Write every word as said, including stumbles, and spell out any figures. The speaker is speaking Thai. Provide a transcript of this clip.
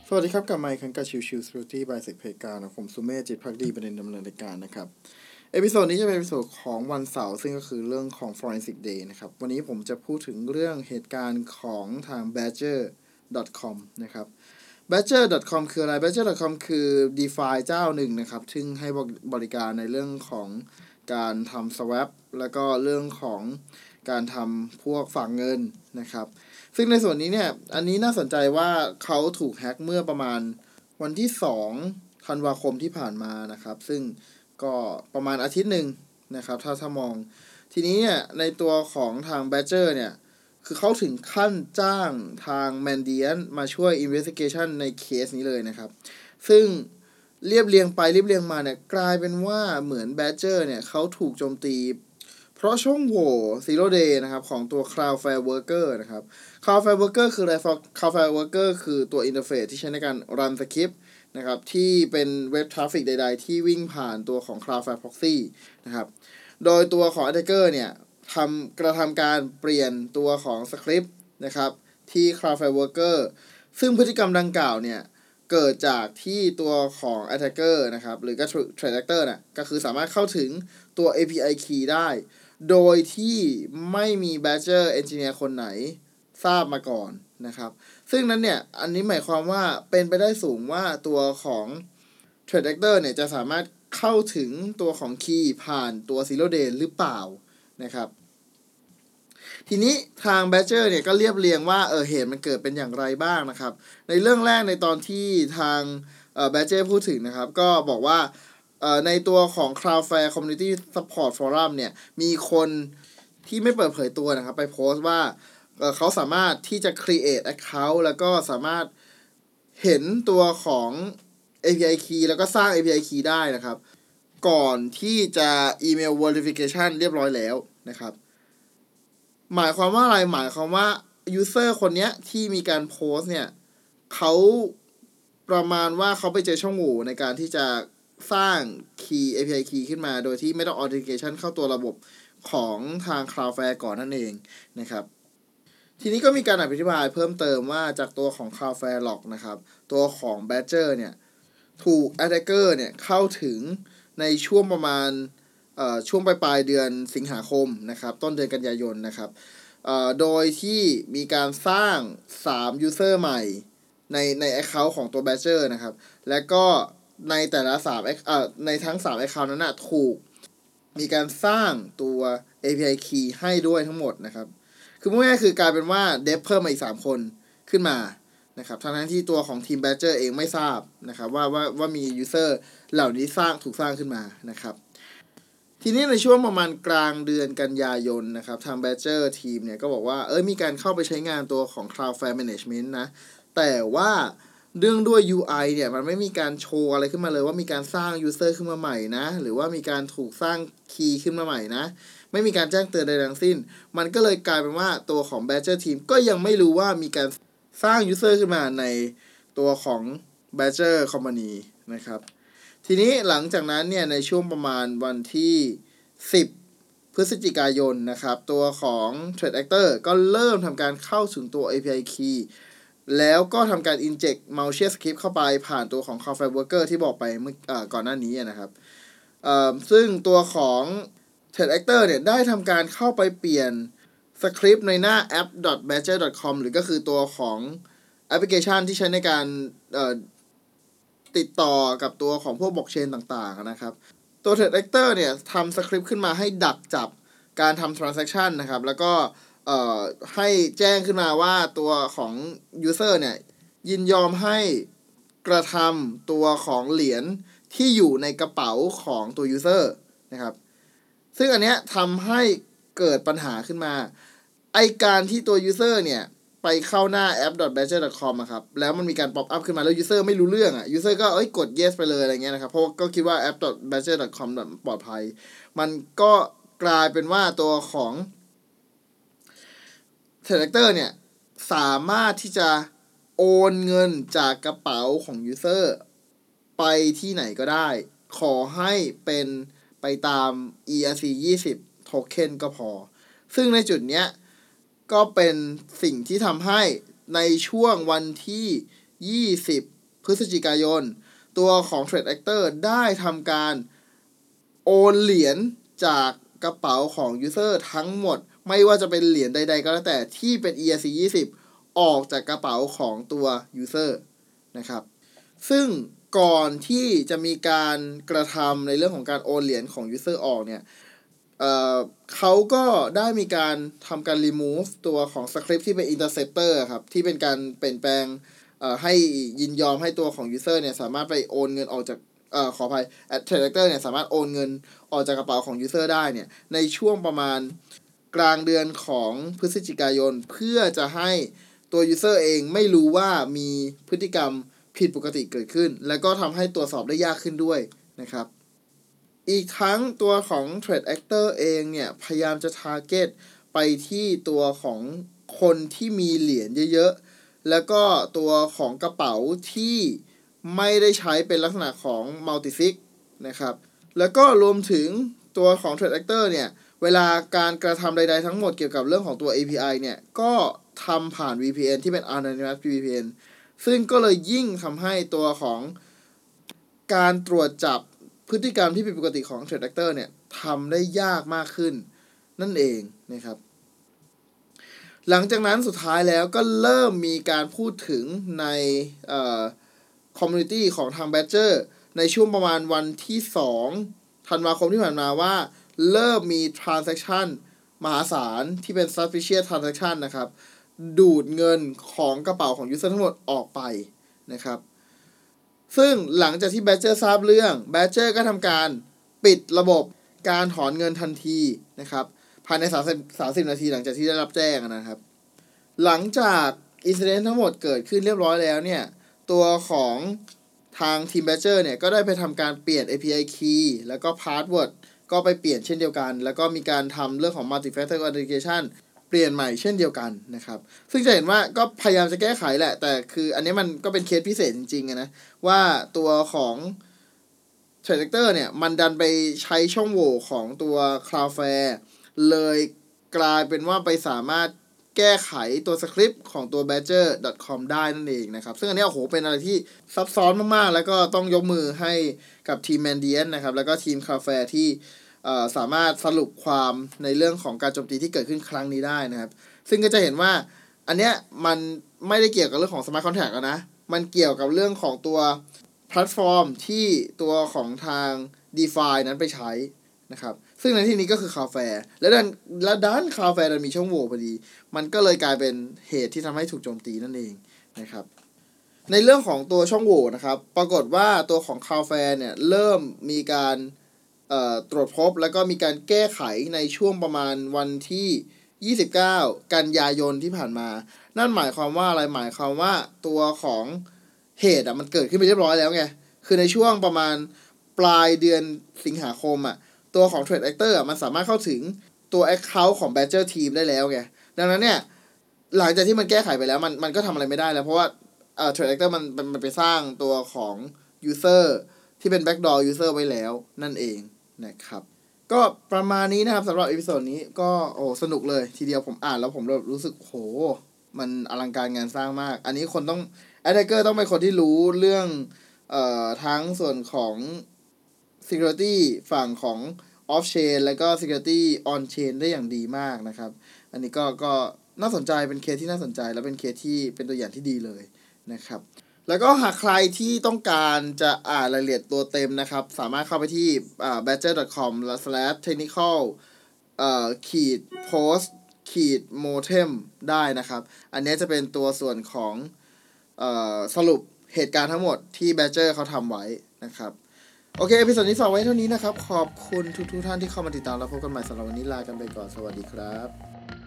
สวัสดีครับกลับมาอีกครั้งกับชิวชิว Security by เซกเพกานะผมสุเมธจิตภักดีประเด็นดำเนินรายการนะครับเอพิโซดนี้จะเป็นเอพิโซดของวันเสาร์ซึ่งก็คือเรื่องของ Forensic Day นะครับวันนี้ผมจะพูดถึงเรื่องเหตุการณ์ของทาง badger ดอท คอม นะครับ badger ดอท คอม คืออะไร badger ดอท คอม คือ DeFi เจ้าหนึ่งนะครับซึ่งให้บริการในเรื่องของการทำ swap แล้วก็เรื่องของการทำพวกฝากเงินนะครับซึ่งในส่วนนี้เนี่ยอันนี้น่าสนใจว่าเขาถูกแฮ็กเมื่อประมาณวันที่สองธันวาคมที่ผ่านมานะครับซึ่งก็ประมาณอาทิตย์หนึ่งนะครับถ้าถ้ามองทีนี้เนี่ยในตัวของทาง Badger เนี่ยคือเขาถึงขั้นจ้างทาง Mandiant มาช่วย Investigation ในเคสนี้เลยนะครับซึ่งเรียบเรียงไปเรียบเรียงมาเนี่ยกลายเป็นว่าเหมือน Badger เนี่ยเขาถูกโจมตีเพราะช่องโหว่ Zero Day นะครับของตัว Cloudflare Worker นะครับ Cloudflare Worker คืออะไร Cloudflare Worker คือตัวอินเทอร์เฟซที่ใช้ในการรันสคริปต์นะครับที่เป็นเว็บทราฟฟิกใดๆที่วิ่งผ่านตัวของ Cloudflare Proxy นะครับโดยตัวของ Attacker เนี่ยทำกระทำการเปลี่ยนตัวของสคริปต์นะครับที่ Cloudflare Worker ซึ่งพฤติกรรมดังกล่าวเนี่ยเกิดจากที่ตัวของ Attacker นะครับหรือก็ Threat Actor น่ะก็คือสามารถเข้าถึงตัว เอ พี ไอ Key ได้โดยที่ไม่มี Badger Engineer คนไหนทราบมาก่อนนะครับซึ่งนั้นเนี่ยอันนี้หมายความว่าเป็นไปได้สูงว่าตัวของ Threat Actor เนี่ยจะสามารถเข้าถึงตัวของ Key ผ่านตัว Zero Day หรือเปล่านะครับทีนี้ทาง Badger เนี่ยก็เรียบเรียงว่าเออเหตุมันเกิดเป็นอย่างไรบ้างนะครับในเรื่องแรกในตอนที่ทางเอ่อ Badger พูดถึงนะครับก็บอกว่าในตัวของ Cloudflare Community Support Forum เนี่ยมีคนที่ไม่เปิดเผยตัวนะครับไปโพสต์ว่า เ, เขาสามารถที่จะ create account แล้วก็สามารถเห็นตัวของ เอ พี ไอ Key แล้วก็สร้าง เอ พี ไอ Key ได้นะครับก่อนที่จะอีเมล verification เรียบร้อยแล้วนะครับหมายความว่าอะไรหมายความว่า user คนนี้ที่มีการโพสต์เนี่ยเขาประมาณว่าเขาไปเจอช่องโหว่ในการที่จะสร้าง key เอ พี ไอ key ขึ้นมาโดยที่ไม่ต้อง authentication เข้าตัวระบบของทาง Cloudflare ก่อนนั่นเองนะครับทีนี้ก็มีการอธิบายเพิ่มเติมว่าจากตัวของ Cloudflare Log นะครับตัวของ Badger เนี่ยถูก Attacker เนี่ยเข้าถึงในช่วงประมาณเอ่อช่วงปลายเดือนสิงหาคมนะครับต้นเดือนกันยายนนะครับเอ่อโดยที่มีการสร้างสาม user ใหม่ในใน account ของตัว Badger นะครับและก็ในแต่ละสามเอ่อในทั้งสาม account นั้นนะถูกมีการสร้างตัว เอ พี ไอ Key ให้ด้วยทั้งหมดนะครับคือง่ายๆคือกลายเป็นว่าเดฟเพิ่มมาอีกสามคนขึ้นมานะครับทั้งที่ตัวของทีม Badger เองไม่ทราบนะครับว่าว่าว่ามี user เหล่านี้สร้างถูกสร้างขึ้นมานะครับทีนี้ในช่วงประมาณกลางเดือนกันยายนนะครับทาง Badger ทีมเนี่ยก็บอกว่าเอ้ยมีการเข้าไปใช้งานตัวของ Cloudflare Management นะแต่ว่าเรื่องด้วย ยู ไอ เนี่ยมันไม่มีการโชว์อะไรขึ้นมาเลยว่ามีการสร้าง user ขึ้นมาใหม่นะหรือว่ามีการถูกสร้าง key ขึ้นมาใหม่นะไม่มีการแจ้งเตือนใดทั้งสิ้นมันก็เลยกลายเป็นว่าตัวของ Badger Team ก็ยังไม่รู้ว่ามีการสร้าง user ขึ้นมาในตัวของ Badger Company นะครับทีนี้หลังจากนั้นเนี่ยในช่วงประมาณวันที่สิบพฤศจิกายนนะครับตัวของ Threat Actor ก็เริ่มทำการเข้าถึงตัว เอ พี ไอ Key แล้วก็ทำการ inject malicious script เข้าไปผ่านตัวของ Cloudflare Worker ที่บอกไปเมื่อก่อนหน้านี้นะครับซึ่งตัวของ Threat Actor เนี่ยได้ทำการเข้าไปเปลี่ยนสคริปต์ในหน้า แอป ดอท แบดเจอร์ ดอท คอม หรือก็คือตัวของแอปพลิเคชันที่ใช้ในการติดต่อกับตัวของพวกบล็อกเชนต่างๆนะครับตัว Threat Actor เนี่ยทำสคริปต์ขึ้นมาให้ดักจับการทำ transaction นะครับแล้วก็ให้แจ้งขึ้นมาว่าตัวของ user เนี่ยยินยอมให้กระทำตัวของเหรียญที่อยู่ในกระเป๋าของตัว user นะครับซึ่งอันเนี้ยทำให้เกิดปัญหาขึ้นมาไอการที่ตัว user เนี่ยไปเข้าหน้า แอป ดอท แบดเจอร์ ดอท คอม อะครับแล้วมันมีการ pop up ขึ้นมาแล้ว user ไม่รู้เรื่องอ่ะ user ก็เอ้ยกด yes ไปเลยอะไรเงี้ยนะครับเพราะก็คิดว่า แอป ดอท แบดเจอร์ ดอท คอม ปลอดภัยมันก็กลายเป็นว่าตัวของ Threat Actor เนี่ยสามารถที่จะโอนเงินจากกระเป๋าของ user ไปที่ไหนก็ได้ขอให้เป็นไปตาม อี อาร์ ซี ยี่สิบ โทเค็นก็พอซึ่งในจุดเนี้ยก็เป็นสิ่งที่ทำให้ในช่วงวันที่ยี่สิบพฤศจิกายนตัวของ Trade Actor ได้ทำการโอนเหรียญจากกระเป๋าของ User ทั้งหมดไม่ว่าจะเป็นเหรียญใดๆก็แล้วแต่ที่เป็น อี อาร์ ซี ยี่สิบ ออกจากกระเป๋าของตัว User นะครับซึ่งก่อนที่จะมีการกระทำในเรื่องของการโอนเหรียญของ User ออกเนี่ยเอ่อเขาก็ได้มีการทำการ remove ตัวของ script ที่เป็น interceptor ครับที่เป็นการเปลี่ยนแปลงเอ่อให้ยินยอมให้ตัวของ User เนี่ยสามารถไปโอนเงินออกจากเอ่อขออภัย Trade Actor เนี่ยสามารถโอนเงินออกจากกระเป๋าของ User ได้เนี่ยในช่วงประมาณกลางเดือนของพฤศจิกายนเพื่อจะให้ตัว User เองไม่รู้ว่ามีพฤติกรรมผิดปกติเกิดขึ้นและก็ทำให้ตรวจสอบได้ยากขึ้นด้วยนะครับอีกทั้งตัวของ Trade Actor เองเนี่ยพยายามจะ target ไปที่ตัวของคนที่มีเหรียญเยอะๆแล้วก็ตัวของกระเป๋าที่ไม่ได้ใช้เป็นลักษณะของ multisig นะครับแล้วก็รวมถึงตัวของ Trade Actor เนี่ยเวลาการกระทำใดๆทั้งหมดเกี่ยวกับเรื่องของตัว เอ พี ไอ เนี่ยก็ทำผ่าน วี พี เอ็น ที่เป็น Anonymous วี พี เอ็น ซึ่งก็เลยยิ่งทำให้ตัวของการตรวจจับพฤติกรรมที่ผิดปกติของ Trade Actor เนี่ยทำได้ยากมากขึ้นนั่นเองนะครับหลังจากนั้นสุดท้ายแล้วก็เริ่มมีการพูดถึงในเอ่อ community ของทาง Badger ในช่วงประมาณวันที่สองธันวาคมที่ผ่านมาว่าเริ่มมี transaction มหาศาลที่เป็น suspicious transaction นะครับดูดเงินของกระเป๋าของ user ทั้งหมดออกไปนะครับซึ่งหลังจากที่ Badger ทราบเรื่อง Badger ก็ทำการปิดระบบการถอนเงินทันทีนะครับภายในสามสิบ สามสิบนาทีหลังจากที่ได้รับแจ้งนะครับหลังจากอินซิเดนต์ทั้งหมดเกิดขึ้นเรียบร้อยแล้วเนี่ยตัวของทางทีม Badger เนี่ยก็ได้ไปทำการเปลี่ยน เอ พี ไอ key แล้วก็ password ก็ไปเปลี่ยนเช่นเดียวกันแล้วก็มีการทำเรื่องของ multi-factor authentication เปลี่ยนใหม่เช่นเดียวกันนะครับซึ่งจะเห็นว่าก็พยายามจะแก้ไขแหละแต่คืออันนี้มันก็เป็นเคสพิเศษจริงๆนะว่าตัวของ Trade Actor เนี่ยมันดันไปใช้ช่องโหว่ของตัว Cloudflare เลยกลายเป็นว่าไปสามารถแก้ไขตัวสคริปต์ของตัว badger ดอท คอม ได้นั่นเองนะครับซึ่งอันนี้โอ้โหเป็นอะไรที่ซับซ้อนมากๆแล้วก็ต้องยกมือให้กับทีม Mandiant นะครับแล้วก็ทีม Cloudflare ที่สามารถสรุปความในเรื่องของการโจมตีที่เกิดขึ้นครั้งนี้ได้นะครับซึ่งก็จะเห็นว่าอันเนี้ยมันไม่ได้เกี่ยวกับเรื่องของ Smart Contract แล้วนะมันเกี่ยวกับเรื่องของตัวแพลตฟอร์มที่ตัวของทาง DeFi นั้นไปใช้นะครับซึ่งในที่นี้ก็คือ Cloudflare และดันและด้าน Cloudflare มันมีช่องโหว่พอดีมันก็เลยกลายเป็นเหตุที่ทำให้ถูกโจมตีนั่นเองนะครับในเรื่องของตัวช่องโหว่นะครับปรากฏว่าตัวของ Cloudflare เนี่ยเริ่มมีการเอ่อตรวจพบแล้วก็มีการแก้ไขในช่วงประมาณวันที่ยี่สิบเก้ากันยายนที่ผ่านมานั่นหมายความว่าอะไรหมายความว่าตัวของเหตุอ่ะมันเกิดขึ้นไปเรียบร้อยแล้วไงคือในช่วงประมาณปลายเดือนสิงหาคมอ่ะตัวของ Trade Actor อ่ะมันสามารถเข้าถึงตัว Account ของ Badger Team ได้แล้วไงดังนั้นเนี่ยหลังจากที่มันแก้ไขไปแล้วมันมันก็ทำอะไรไม่ได้แล้วเพราะว่าเอ่อ Trade Actor มันมันไปสร้างตัวของ User ที่เป็น Backdoor User ไว้แล้วนั่นเองนะครับก็ประมาณนี้นะครับสำหรับเอพิโซดนี้ก็โอ้สนุกเลยทีเดียวผมอ่านแล้วผมรู้สึกโหมันอลังการงานสร้างมากอันนี้คนต้อง Attacker ต้องเป็นคนที่รู้เรื่องเอ่อทั้งส่วนของ security ฝั่งของ off chain แล้วก็ security on chain ได้อย่างดีมากนะครับอันนี้ก็ก็น่าสนใจเป็นเคสที่น่าสนใจและเป็นเคสที่เป็นตัวอย่างที่ดีเลยนะครับแล้วก็หากใครที่ต้องการจะอ่านรายละเอียดตัวเต็มนะครับสามารถเข้าไปที่อ่า badger ดอท คอม สแลช เทคนิคอล เอ่อขีด post ขีด motem ได้นะครับอันนี้จะเป็นตัวส่วนของเอ่อสรุปเหตุการณ์ทั้งหมดที่ Badger เขาทำไว้นะครับโอเคเอพิโซดนี้ฝากไว้เท่านี้นะครับขอบคุณทุกๆท่านที่เข้ามาติดตามแล้วพบกันใหม่สำหรับวันนี้ลากันไปก่อนสวัสดีครับ